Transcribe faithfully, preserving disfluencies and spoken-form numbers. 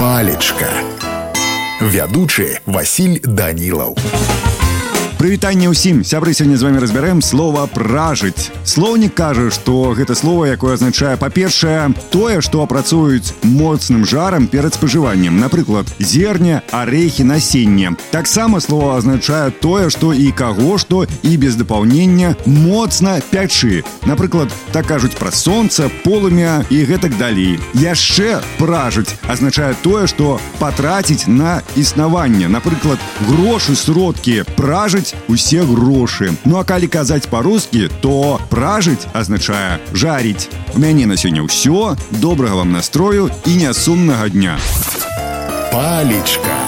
Палечка. Вядучы Васіль Данілаў. Прывітанне ўсім, сябры, сёння з вами разбярэм слова «пражыць». Слоўнік кажа, што гэта слова, якое азначае, па-першае, тое, што апрацуюць моцным жарам перад спажываннем. Напрыклад, зерне, арэхі, насенне. Таксама слова азначае тое, што і каго што, і без дапаўнення моцна пячы. Напрыклад, так кажуць пра сонца, полымя і гэтак далей. Яшчэ «пражыць» азначае тое, што патраціць на існаванне. Напрыклад, грошы, сродкі, пражыць усе грошы. Ну а калі казаць па-рускі, то пражыць азначае жаріць. У мяне на сёння ўсё. Добрага вам настрою і нясумнага дня. Палечка.